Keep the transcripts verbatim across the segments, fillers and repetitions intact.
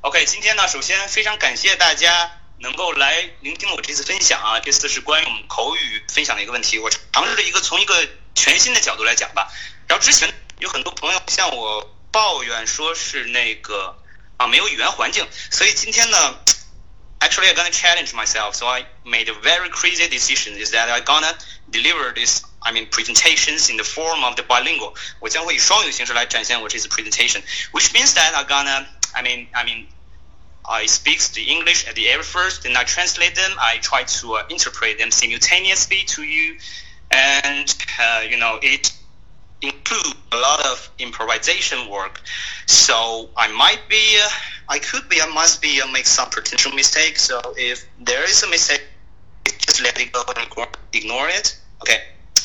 OK， 今天呢，首先非常感谢大家能够来聆听我这次分享啊，这次是关于我们口语分享的一个问题，我尝试一个从一个全新的角度来讲吧。然后之前有很多朋友向我抱怨说是那个啊没有语言环境，所以今天呢 actually I'm gonna challenge myself, so I made a very crazy decision is that I'm gonna deliver this I mean presentations in the form of the bilingual. 我将会以双语形式来展现我这次 presentation, which means that I'm gonna I mean I mean I speak the English at the very first, then I translate them. I try to uh, interpret them simultaneously to you, and uh, you know it includes a lot of improvisation work. So I might be, uh, I could be, I must be uh, make some potential mistakes. So if there is a mistake, just let it go and ignore it. OK.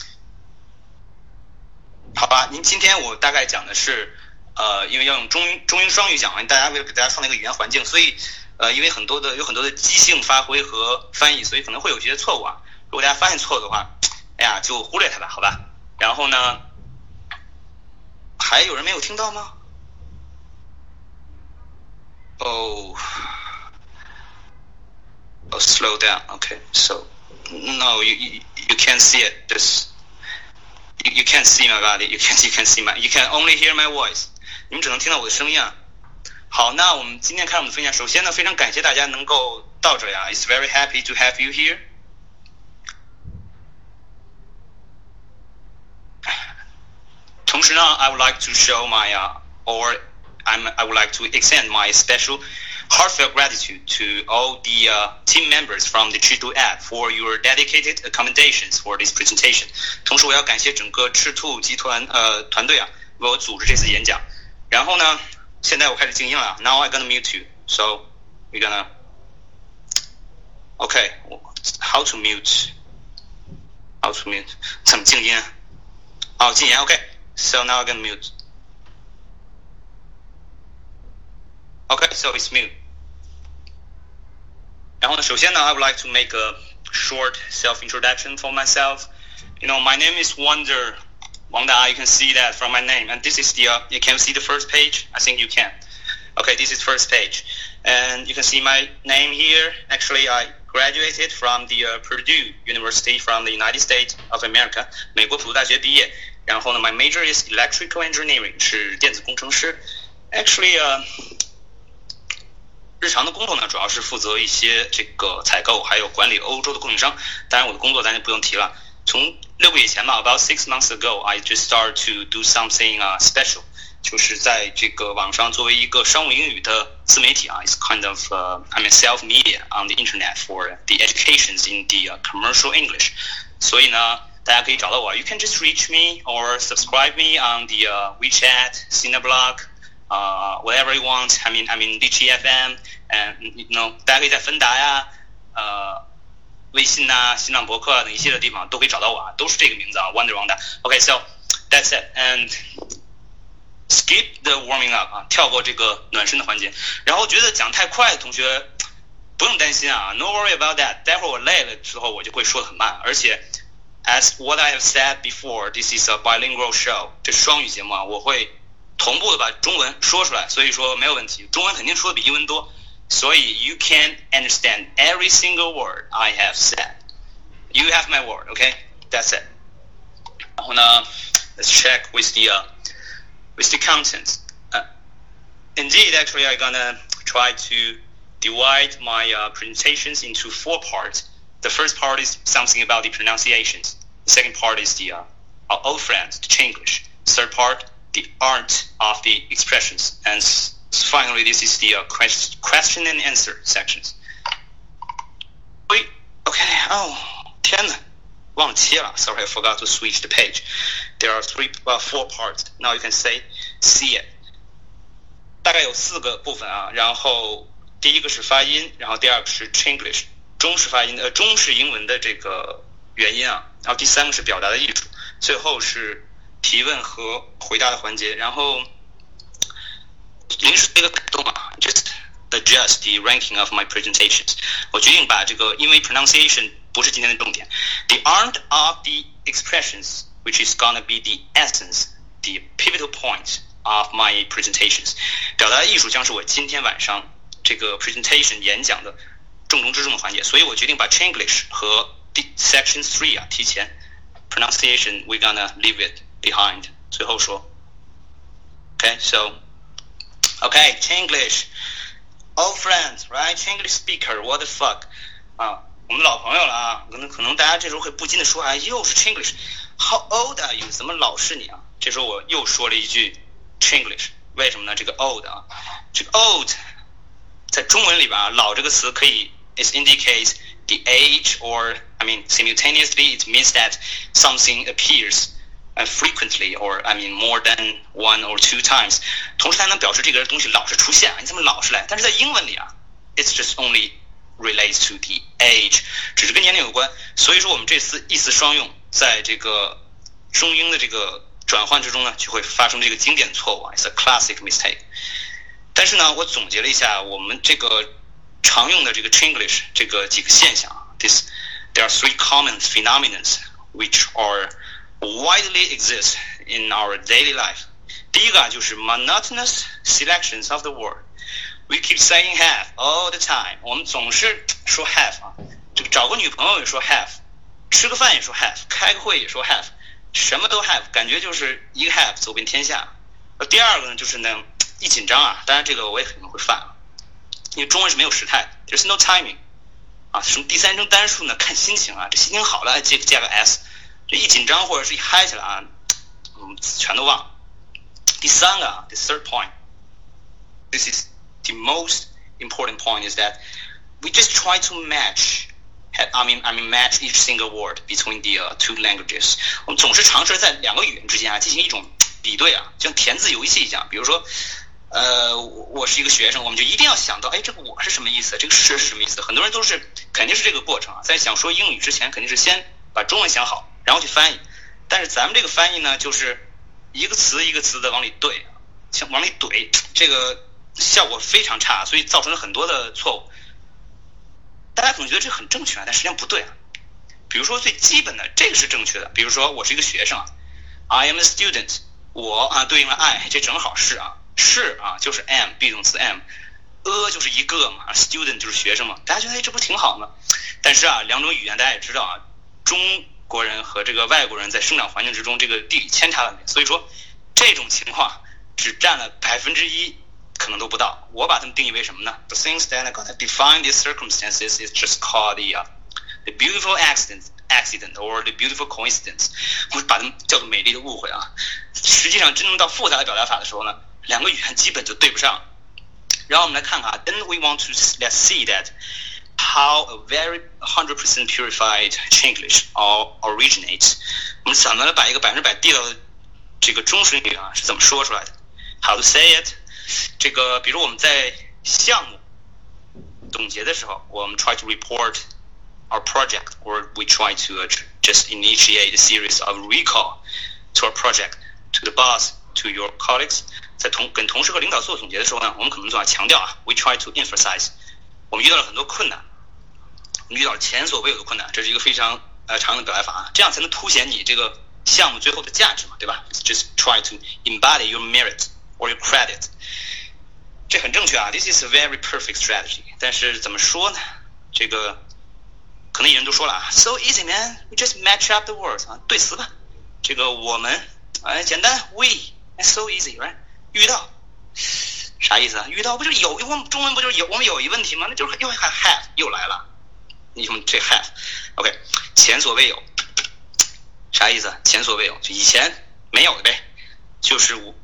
好吧，您今天我大概讲的是。呃，因为要用中英中英双语讲完，大家为了给大家创造一个语言环境，所以呃，因为很多的有很多的即兴发挥和翻译，所以可能会有些错误啊。如果大家发现错误的话，哎呀，就忽略它吧，好吧。然后呢，还有人没有听到吗？哦，哦 ，slow down. Okay, so no, you you you can't see it. Just you you can't see my body. You can't you can see my. You can only hear my voice. 你们只能听到我的声音啊。好，那我们今天开始我们的分享。首先呢，非常感谢大家能够到这里啊 ，It's very happy to have you here。同时呢 ，I would like to show my uh, or I'm I would like to extend my special heartfelt gratitude to all the uh, team members from the Chitu app for your dedicated accommodations for this presentation。同时，我要感谢整个赤兔集团呃团队啊，为我组织这次演讲。然后呢，现在我开始静音了。Now I'm gonna mute you. So we're gonna. Okay, how to mute? How to mute? 怎么静音？哦，禁言。Okay, so now I'm gonna mute. Okay, so it's mute. 然后呢，首先呢 ，I would like to make a short self-introduction for myself. You know, my name is Wonder. Wang Da, you can see that from my name, and this is the. Uh, you can see the first page. I think you can. Okay, this is first page, and you can see my name here. Actually, I graduated from the uh, Purdue University from the United States of America. 美国普渡大学毕业。然后呢 ，my major is electrical engineering， 是电子工程师。Actually, 呃，日常的工作呢，主要是负责一些这个采购，还有管理欧洲的供应商。当然，我的工作咱就不用提了。从六个月前吧 ，about six months ago, I just started to do something uh, special， 就是在这个网上作为一个商务英语的自媒体啊 ，it's kind of uh, I mean self media on the internet for the educations in the uh, commercial English。所以呢，大家可以找到我 ，you can just reach me or subscribe me on the uh, WeChat, Cineblog, uh, whatever you want. I mean I mean D G F M and you know 大家可以在芬达呀，呃。微信呐、啊、新浪博客啊等一系列地方都可以找到我啊，都是这个名字啊 ，Wonder Wang Da。OK, so that's it, and skip the warming up 啊，跳过这个暖身的环节。然后觉得讲太快的同学不用担心啊 ，No worry about that。待会儿我累了之后我就会说得很慢，而且 as what I have said before, this is a bilingual show， 这是双语节目啊，我会同步的把中文说出来，所以说没有问题，中文肯定说的比英文多。所以 you can understand every single word I have said. You have my word, okay? That's it. 然后呢 let's check with the uh, with the content. Uh, indeed, actually, I'm gonna try to divide my uh, presentations into four parts. The first part is something about the pronunciations. The second part is the uh, our old friends, the Chinglish. Third part, the art of the expressions, and finally, this is the uh, question, question and answer sections. Wait, okay, oh, 天哪，忘了切了 Sorry, I forgot to switch the page. There are three, uh, four parts. Now you can say, see it. 大概有四个部分啊，然后第一个是发音，然后第二个是 Chinglish， 中式发音，呃，中式英文的这个元音啊，然后第三个是表达的艺术，最后是提问和回答的环节，然后。临时一个改动啊 ，just adjust the ranking of my presentations。我决定把这个，因为 pronunciation 不是今天的重点 ，the art of the expressions, which is gonna be the essence, the pivotal point of my presentations。表达艺术将是我今天晚上这个 presentation 演讲的重中之重的环节，所以我决定把 Chinglish 和 section three 啊提前 pronunciation we're gonna leave it behind 最后说 okay so okay Chinglish old friends right Chinglish speaker what the fuck 啊我们老朋友了啊，可能可能大家这时候会不禁的说，哎，又是 Chinglish how old are you 怎么老是你啊？这时候我又说了一句 Chinglish， 为什么呢？这个 old 啊，这个 old 在中文里边啊，老这个词可以 it indicates the age or I mean simultaneously it means that something appears uh, frequently or I mean more than one or two times， 同时它能表示这个东西老是出现啊，你怎么老是来？但是在英文里啊 it's just only relates to the age， 只是跟年龄有关，所以说我们这次意思双用，在这个中英的这个转换之中呢，就会发生这个经典错误啊 ，it's a classic mistake。但是呢，我总结了一下我们这个常用的这个 Chinglish 这个几个现象啊 ，this there are three common phenomena which are widely exist in our daily life。第一个啊，就是 monotonous selections of the word。We keep saying have all the time， 我们总是说 have 啊，这个找个女朋友也说 have， 吃个饭也说 have， 开个会也说 have， 什么都 have， 感觉就是一个 have 走遍天下。而第二个呢，就是呢一紧张啊，当然这个我也可能会犯啊，因为中文是没有时态 ，there's no timing 啊，什么第三人称单数呢，看心情啊，这心情好了加加个 s， 这一紧张或者是一嗨起来啊，嗯，全都忘了。第三个啊 ，the third point，this is。The most important point is that we just try to match, I mean, I mean match each single word between the、uh, two languages. 我们总是尝试在两个语言之间啊进行一种比对啊，就像填字游戏一样。比如说，呃，我是一个学生，我们就一定要想到，哎，这个我是什么意思？这个是什么意思？很多人都是肯定是这个过程啊，在想说英语之前，肯定是先把中文想好，然后去翻译。但是咱们这个翻译呢，就是一个词一个词的往里对，像往里怼，这个。效果非常差，所以造成了很多的错误。大家可能觉得这很正确啊，但实际上不对啊。比如说最基本的，这个是正确的。比如说我是一个学生啊 ，I am a student， 我啊对应了 I， 这正好是啊，是啊就是 am，be 动词 am，a 就是一个嘛 ，student 就是学生嘛。大家觉得哎这不挺好吗？但是啊，两种语言大家也知道啊，中国人和这个外国人在生长环境之中，这个地理千差万别，所以说这种情况只占了百分之一。可能都不到，我把它们定义为什么呢 ？The things that are gonna define these circumstances is just called the、uh, the beautiful accident, accident or the beautiful coincidence。我们把它们叫做美丽的误会啊。实际上，真正到复杂的表达法的时候呢，两个语言基本就对不上。然后我们来看看啊 ，Then we want to let's see that how a very one hundred percent purified Chinglish all originates。我们怎么来把一个百分之百地道的这个中式英语啊是怎么说出来的 ？How to say it？这个，比如我们在项目总结的时候，我们 try to report our project, or we try to、uh, just initiate a series of recall to our project, to the boss, to your colleagues。在同跟同事和领导做总结的时候呢，我们可能总要强调啊 ，we try to emphasize。我们遇到了很多困难，我们遇到了前所未有的困难，这是一个非常呃常用的表达法啊，这样才能凸显你这个项目最后的价值嘛，对吧 ？Just try to embody your merit or your credit。这很正确啊 ，This is a very perfect strategy。但是怎么说呢？这个可能有人都说了啊 ，So easy man, we just match up the words 啊，对词吧。这个我们哎简单 ，we so easy right？ 遇到啥意思啊？遇到不就是有？我们中文不就是有？我们有一问题吗？那就是又还 have 又来了。你们这 have，OK，、okay, 前所未有，啥意思？前所未有，就以前没有的呗，就是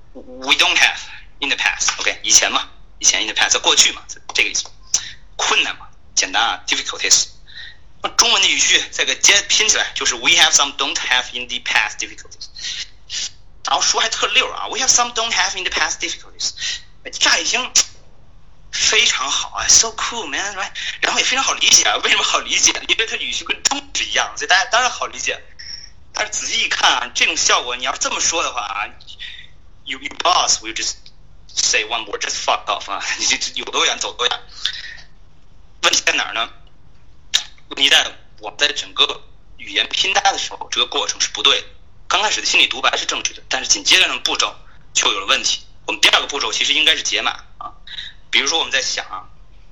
we don't have in the past，OK，、okay, 以前嘛。以前 in the past 过去嘛，这个意思。困难嘛，简单啊 ，difficulties。中文的语序再给接拼起来，就是 we have some don't have in the past difficulties。然后说还特溜啊 ，we have some don't have in the past difficulties。乍一听非常好啊 ，so cool man，right？ 然后也非常好理解啊，为什么好理解？因为它语序跟中是一样，所以大家当然好理解。但是仔细一看啊，这种效果你要这么说的话啊 ，you you boss will just say one word, just fuck off 啊！你这有多远走多远。问题在哪儿呢？问题在我们在整个语言拼搭的时候，这个过程是不对的。刚开始的心理独白是正确的，但是紧接着的步骤就有了问题。我们第二个步骤其实应该是解码啊。比如说我们在想啊，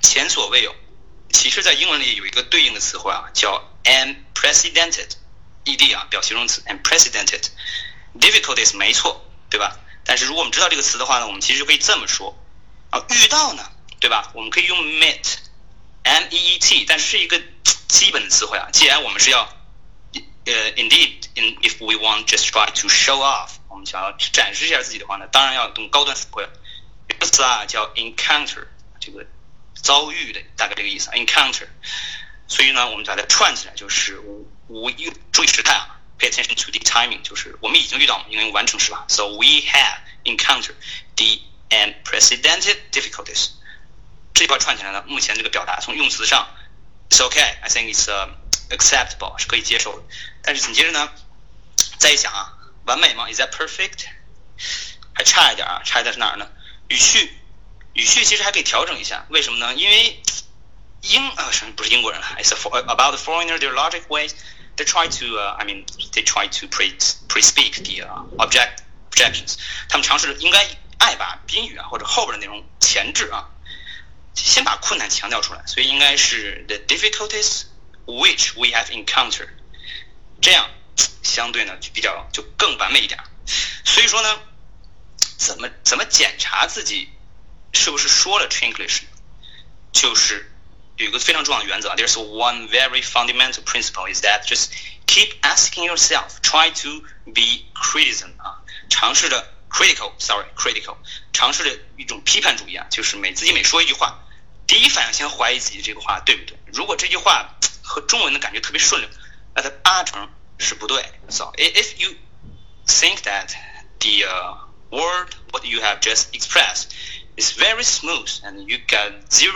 前所未有。其实在英文里有一个对应的词汇啊，叫 unprecedented，ed 啊表形容词 unprecedented。difficulties 没错，对吧？但是如果我们知道这个词的话呢，我们其实就可以这么说啊，遇到呢，对吧？我们可以用 meet，m e e t， 但是是一个基本的词汇啊。既然我们是要呃 indeed in if we want just try to show off， 我们想要展示一下自己的话呢，当然要用高端词汇了。这个词啊叫 encounter， 这个遭遇的大概这个意思 encounter。所以呢，我们把它串起来，就是我注意时态啊。Pay attention to the timing， 就是我们已经遇到，应该用完成时吧。So we have encountered the unprecedented difficulties。这句话串起来呢，目前这个表达从用词上 ，it's okay，I think it's、uh, acceptable， 是可以接受的。但是紧接着呢，再一想啊，完美吗 ？Is that perfect？ 还差一点啊，差一点是哪儿呢？语序，语序其实还可以調整一下。为什么呢？因为英啊，什么不是英国人了 ？It's a, about the foreigner, their logic ways.They try to, uh, I mean, they try to pre pre-speak the uh, object objections. 他们尝试应该爱把宾语啊或者后边的内容前置啊，先把困难强调出来，所以应该是 the difficulties which we have encountered。这样相对呢就比较就更完美一点。所以说呢，怎么怎么检查自己是不是说了 Chinglish， 就是有一个非常重要的原则 There's one very fundamental principle is that just keep asking yourself, try to be criticism 啊，尝试着 critical, sorry, critical， 尝试着一种批判主义啊，就是每自己每说一句话，第一反应先怀疑自己这个话对不对。如果这句话和中文的感觉特别顺溜，那它八成是不对。So if you think that the、uh, word what you have just expressed is very smooth and you got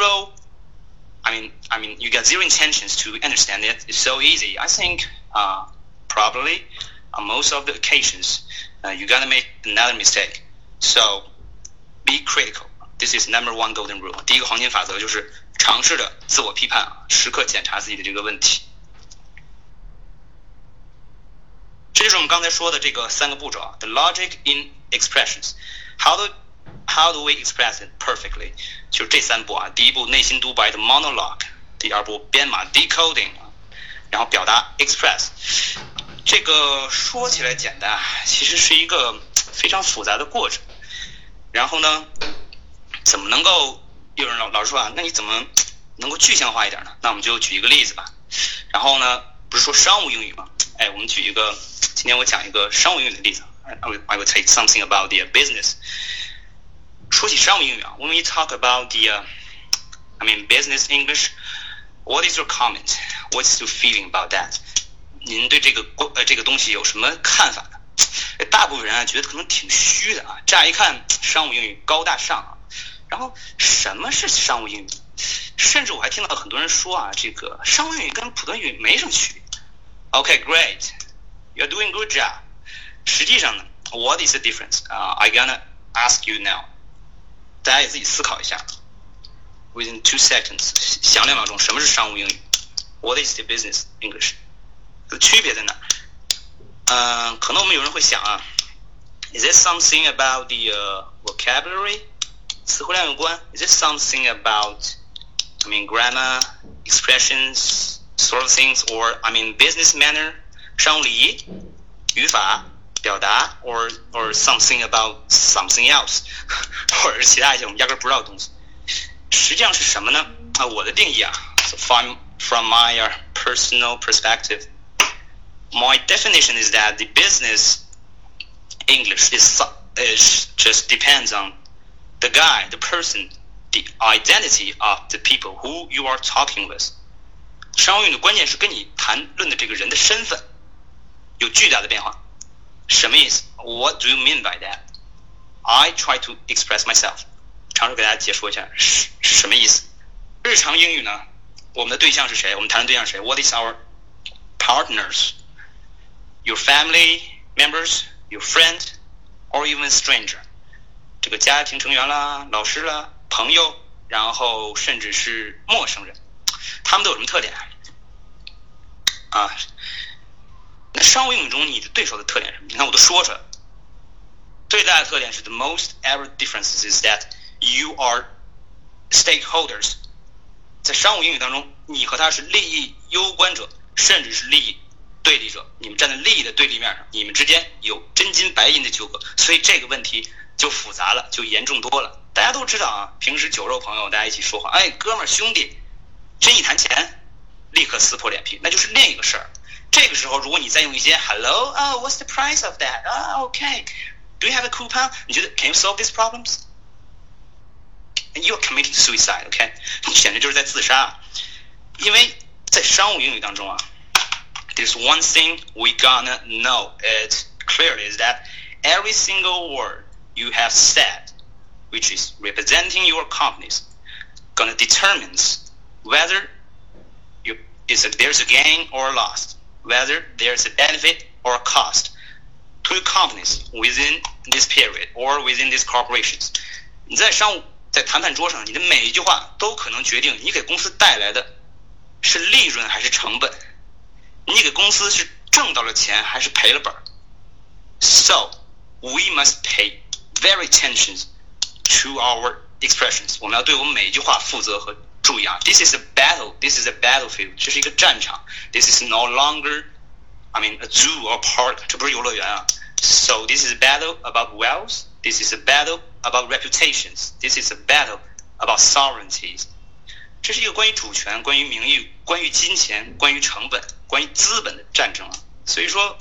zero。I mean, I mean, you got zero intentions to understand it. It's so easy. I think, uh, probably, on most of the occasions, uh, you're gonna make another mistake. So, be critical. This is number one golden rule. 第一个黄金法则就是尝试着自我批判啊，时刻检查自己的这个问题。这就是我们刚才说的这个三个步骤啊 ，the logic in expressions. How do How do we express it perfectly？ 就是这三步啊，第一步内心独白的 monologue， 第二步编码 decoding， 然后表达 express。这个说起来简单，其实是一个非常复杂的过程。然后呢，怎么能够有人老老师说啊，那你怎么能够具象化一点呢？那我们就举一个例子吧。然后呢，不是说商务英语吗？哎，我们举一个，今天我讲一个商务英语的例子。I will, I will take something about the business。说起商务英语啊 ，When we talk about the, uh, I mean business English, what is your comment? What's your feeling about that? 您对这个呃这个东西有什么看法呢？大部分人啊觉得可能挺虚的啊，乍一看商务英语高大上啊，然后什么是商务英语？甚至我还听到很多人说啊，这个商务英语跟普通英语没什么区别。Okay, great, you're doing good job. 实际上呢 ，What is the difference? 啊、uh, I gonna ask you now.大家也自己思考一下 ，within two seconds， 想两秒钟，什么是商务英语 ？What is the business English？ 区别在哪？嗯、呃，可能我们有人会想啊 ，Is it something about the、uh, vocabulary？ 词汇量有关 ？Is it something about I mean grammar, expressions, sort of things, or I mean business manner？ 商务礼仪、语法。表达 or or something about something else 或者是其他一些我们压根不知道的东西，实际上是什么呢？啊，我的定义啊 so from from my、uh, personal perspective, my definition is that the business English is, is just depends on the guy, the person, the identity of the people who you are talking with。商务英语的关键是跟你谈论的这个人的身份有巨大的变化。什么意思 ？What do you mean by that? I try to express myself。尝试给大家解说一下是是什么意思。日常英语呢，我们的对象是谁？我们谈的对象是谁 ？What is our partners? Your family members, your friend, or even stranger？ 这个家庭成员啦、老师啦、朋友，然后甚至是陌生人，他们都有什么特点啊？那商务英语中你的对手的特点是什么？你看我都说出来了。最大的特点是 the most ever difference is that you are stakeholders 在商务英语当中，你和他是利益攸关者，甚至是利益对立者，你们站在利益的对立面上，你们之间有真金白银的纠葛，所以这个问题就复杂了，就严重多了。大家都知道啊，平时酒肉朋友大家一起说话，哎，哥们儿兄弟，真一谈钱，立刻撕破脸皮，那就是另一个事儿。这个时候，如果你再用一些 Hello, oh, what's the price of that? Ah, okay. Do you have a coupon? 你觉得 Can you solve these problems? And you are committing suicide, okay? 你简直就是在自杀。因为在商务英语当中啊 ，there's one thing we gonna know it clearly is that every single word you have said, which is representing your companies, gonna determines whether you is a, there's a gain or a loss, whether there's a benefit or a cost to your companies within this period or within these corporations. 你在商务在谈判桌上，你的每一句话都可能决定你给公司带来的是利润还是成本，你给公司是挣到了钱还是赔了本。So we must pay very attention to our expressions. 我们要对我们每一句话负责和注意啊。This is a battle. This is a battlefield. 这是一个战场。This is no longer, I mean, a zoo or park. 这不是游乐园啊。So this is a battle about wealth. This is a battle about reputations. This is a battle about sovereignties. 这是一个关于主权、关于名誉、关于金钱、关于成本、关于资本的战争啊。所以说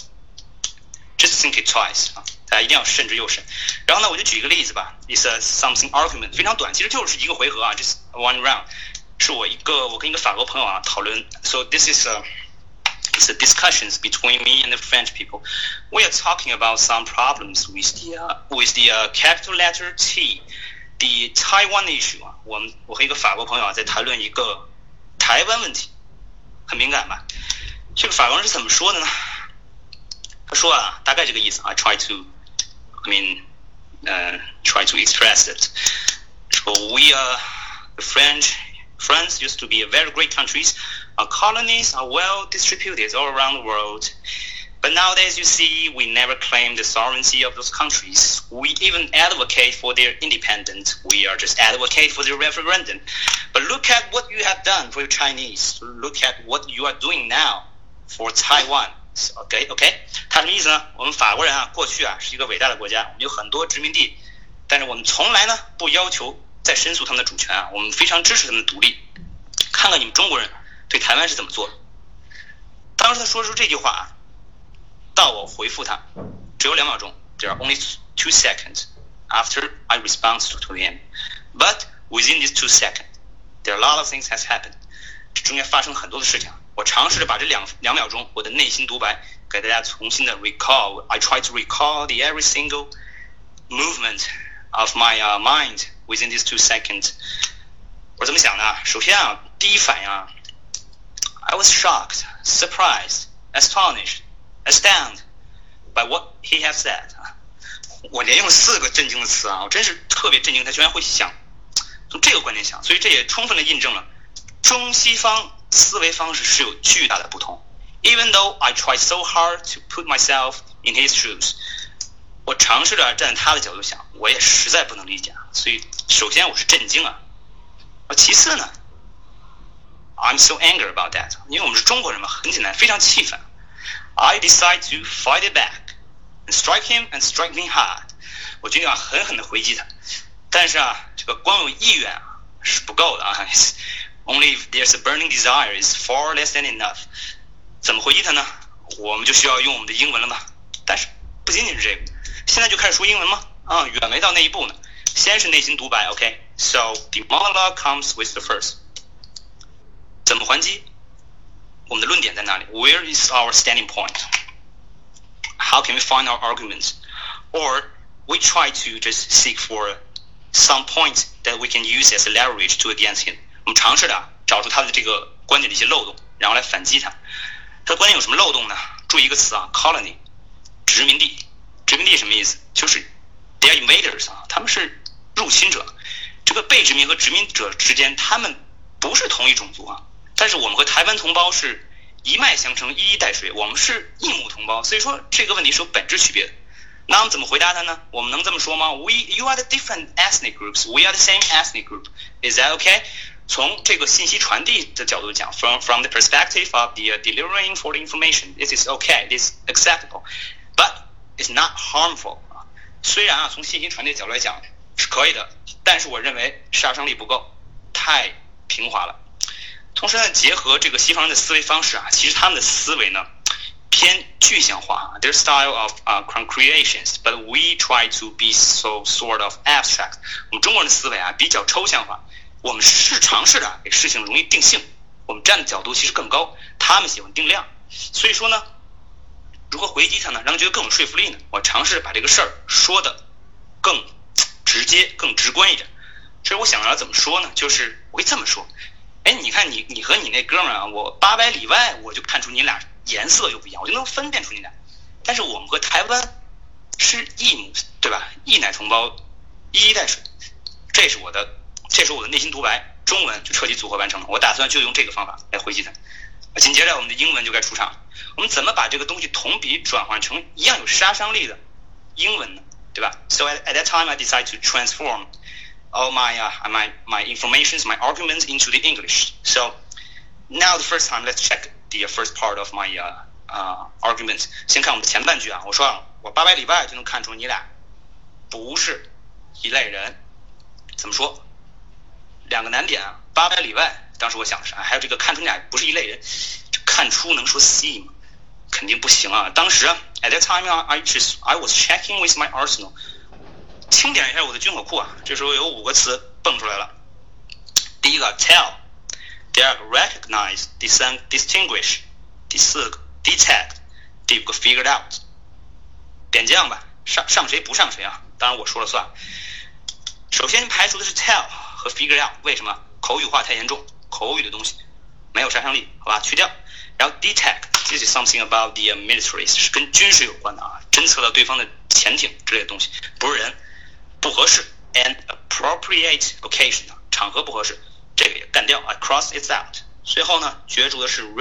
，just think it twice 啊，大家一定要慎之又慎。然后呢，我就举一个例子吧 ，is a something argument， 非常短，其实就是一个回合啊 ，just one round。是我一个我跟一个法国朋友啊讨论 ，so this is a it's a discussions between me and the French people. We are talking about some problems with the uh, with the uh, capital letter T, the Taiwan issue 啊。我们我和一个法国朋友啊在谈论一个台湾问题，很敏感吧？这个法国人是怎么说的呢？他说啊，大概这个意思。I try to, I mean, uh, try to express it. So we are the French. France used to be a very great countries. Our colonies are well distributed all around the world. But nowadays, you see, we never claim the sovereignty of those countries. We even advocate for their independence. We are just advocate for their referendum. But look at what you have done for the Chinese. Look at what you are doing now for Taiwan. OK OK， 他什么意思呢？我们法国人啊，过去啊是一个伟大的国家，我们有很多殖民地，但是我们从来呢不要求再申诉他们的主权啊，我们非常支持他们的独立。看看你们中国人对台湾是怎么做的。当时他说出这句话啊，到我回复他只有两秒钟 ，There are only two seconds after I respond to him. But within these two seconds, there are a lot of things has happened. 这中间发生很多的事情。我尝试着把这两两秒钟我的内心独白给大家重新的 recall. I try to recall the every single movement of my uh, mind within these two seconds. 我怎么想的？首先啊，第一反应啊 ，I was shocked, surprised, astonished, astounded by what he has said. 我连用四个震惊的词啊，我真是特别震惊，他居然会想从这个观点想，所以这也充分的印证了中西方思维方式是有巨大的不同。Even though I try so hard to put myself in his shoes, 我尝试着站在他的角度想，我也实在不能理解。所以首先我是震惊啊。其次呢 I'm so angry about that， 因为我们是中国人嘛，很简单，非常气愤。I decide to fight it back and strike him and strike me hard。我决定啊，狠狠的回击他。但是啊，这个光有意愿啊是不够的啊。Only if there's a burning desire is far less than enough。怎么回击他呢？我们就需要用我们的英文了嘛。但是不仅仅是这个，现在就开始说英文吗？啊，远没到那一步呢。先是内心独白 ，OK。So the monologue comes with the first. 怎么还击？我们的论点在哪里 ？Where is our standing point? How can we find our arguments? Or we try to just seek for some point that we can use as a leverage to against him. 我们尝试的找出他的这个观点的一些漏洞，然后来反击他。他的观点有什么漏洞呢？注意一个词啊 ，colony， 殖民地。殖民地什么意思？就是 they are invaders 啊，他们是入侵者。这个被殖民和殖民者之间，他们不是同一种族啊。但是我们和台湾同胞是一脉相承、一衣带水，我们是一母同胞，所以说这个问题是有本质区别的。那我们怎么回答他呢？我们能这么说吗 ？We, you are the different ethnic groups. We are the same ethnic group. Is that okay? 从这个信息传递的角度讲 ，from from the perspective of the delivering for the information, this is okay, this is acceptable, but it's not harmful. 虽然啊，从信息传递的角度来讲是可以的，但是我认为杀伤力不够，太平滑了。同时呢，结合这个西方人的思维方式啊，其实他们的思维呢偏具象化 ，their style of uh, concretions, but we try to be so sort of abstract. 我们中国人的思维啊比较抽象化，我们是尝试着给事情容易定性，我们站的角度其实更高，他们喜欢定量。所以说呢，如何回击它呢，让人觉得更有说服力呢？我尝试把这个事儿说的更直接、更直观一点。这我想要怎么说呢？就是我会这么说。哎，你看你你和你那哥们儿啊，我八百里外我就看出你俩颜色就不一样，我就能分辨出你俩。但是我们和台湾是异母，对吧？异奶同胞，一衣带水，这是我的，这是我的内心独白。中文就彻底组合完成了，我打算就用这个方法来回击它。紧接着我们的英文就该出场，我们怎么把这个东西同比转换成一样有杀伤力的英文呢？对吧 ？So at, at that time I decided to transform all my uh, my my informations, my arguments into the English. So now the first time, let's check the first part of my uh, uh, argument. 先看我们的前半句啊，我说啊，我八百里外就能看出你俩不是一类人。怎么说？两个难点啊，八百里外。当时我想的是，还有这个看出你俩不是一类人，这看出能说 see 吗？肯定不行啊。当时 at that time I just I was checking with my arsenal. 清点一下我的军火库啊，这时候有五个词蹦出来了。第一个 tell， 第二个 recognize， 第三个 distinguish， 第四个 detect， 第五个 figured out。点将吧，上上谁不上谁啊？当然我说了算。首先排除的是 tell 和 figured out， 为什么？口语化太严重，口语的东西没有杀伤力，好吧，去掉。然后 detect，this is something about the military， 是跟军事有关的啊，侦测到对方的潜艇之类的东西，不是人。不合适 ，an appropriate occasion， 场合不合适，这个也干掉啊 ，cross it out。最后呢，角逐的是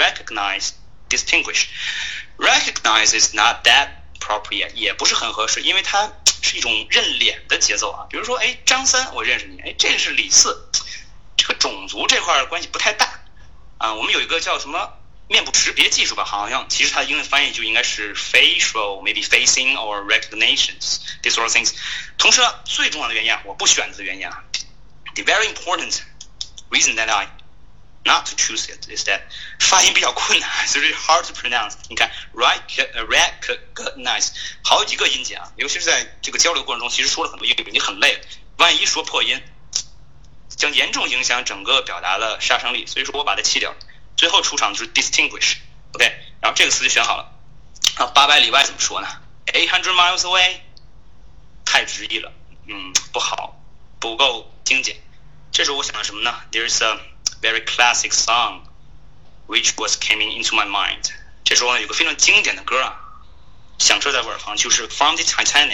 recognize、distinguish。recognize is not that appropriate， 也不是很合适，因为它是一种认脸的节奏啊。比如说，哎，张三，我认识你，哎，这是李四，这个种族这块关系不太大啊。我们有一个叫什么？面部识别技术吧，好像其实它的英文翻译就应该是 facial, maybe facing or recognitions, these sort of things。同时呢，最重要的原因啊，我不选择的原因啊 ，the very important reason that I not to choose it is that 发音比较困难，所以 hard to pronounce。你看 recognize 好几个音节啊，尤其是在这个交流过程中，其实说了很多英语，你很累，万一说破音，将严重影响整个表达的杀伤力。所以说我把它去掉。最后出场就是 distinguish， OK， 然后这个词就选好了。啊，八百里外怎么说呢 ？eight hundred miles away， 太直译了，嗯，不好，不够精简。这时候我想的什么呢 ？There's a very classic song which was coming into my mind。这时候呢，有个非常经典的歌啊，响彻在我耳旁，就是 From the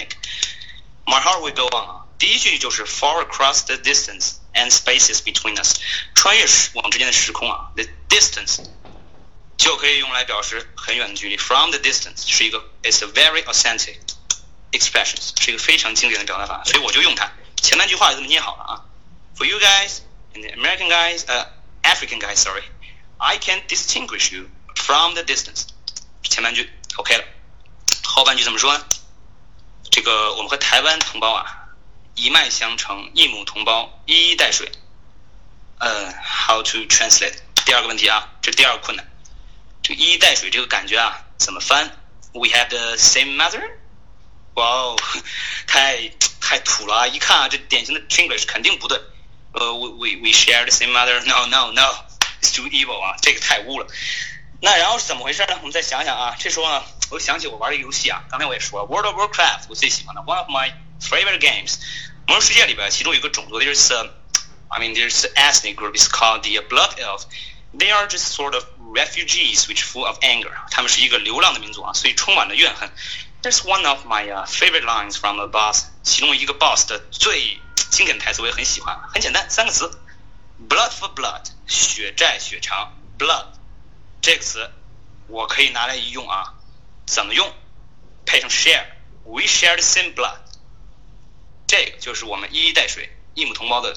Titanic，My Heart Will Go On 啊。第一句就是 Far across the distance。And spaces between us， 穿越我们之间的时空啊 ，the distance 就可以用来表示很远的距离。From the distance 是一个 ，it's a very authentic expression， 是一个非常经典的表达法，所以我就用它。前半句话就这么捏好了啊。For you guys and the American guys， 呃、uh, ，African guys， sorry，I can distinguish you from the distance。前半句 OK 了，后半句怎么说呢？这个我们和台湾同胞啊。一脉相承，一母同胞，一衣带水。呃 ，How to translate？ 第二个问题啊，这是第二个困难。这个一衣带水这个感觉啊，怎么翻 ？We have the same mother？ 哇哦，太太土了啊！一看啊，这典型的 English 肯定不对。呃、uh, ，we we we share the same mother？No no no，it's too evil 啊，这个太污了。那然后是怎么回事呢？我们再想想啊，这时候呢，我想起我玩一个游戏啊，刚才我也说了 ，World of Warcraft 我最喜欢的 ，one of my favorite games。魔兽世界里边，其中有一个种族 ，there's a, I mean there's an ethnic group is called the Blood Elf. They are just sort of refugees which full of anger. 他们是一个流浪的民族啊，所以充满了怨恨。There's one of my、uh, favorite lines from a boss. 其中一个 boss 的最经典的台词我也很喜欢，很简单，三个词 ：blood for blood， 血债血偿 ，blood 这个词我可以拿来一用啊，怎么用？配上 share，we share the same blood。这个就是我们一衣带水、一母同胞的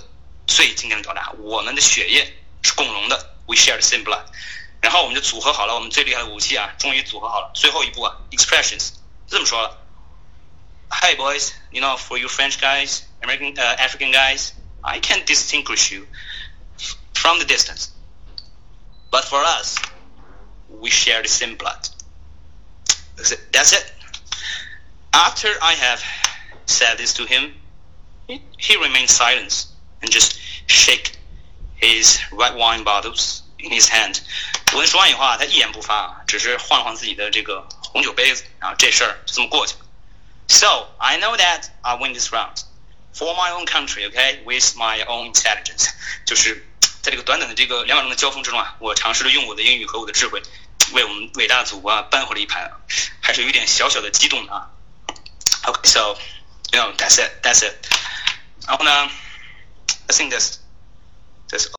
最经典的表达，我们的血液是共融的 ，we share the same blood。然后我们就组合好了我们最厉害的武器啊，终于组合好了。最后一步啊 ，expressions 这么说了 ，Hey boys, you know, for you French guys, American, uh, African guys, I can distinguish you from the distance, but for us, we share the same blood. That's it. After I have said this to him, he, he remained silent and just shake his red wine bottles in his hand. 我跟说完以后啊，他一言不发，只是晃了晃自己的这个红酒杯子，然后这事儿就这么过去了。So I know that I win this round for my own country, okay, with my own intelligence. 就是在这个短短的这个两秒钟的交锋之中啊，我尝试着用我的英语和我的智慧，为我们伟大的祖国啊扳回了一盘，还是有一点小小的激动的啊。Okay, so you know that's it, that's it. 然后呢 I think that's that's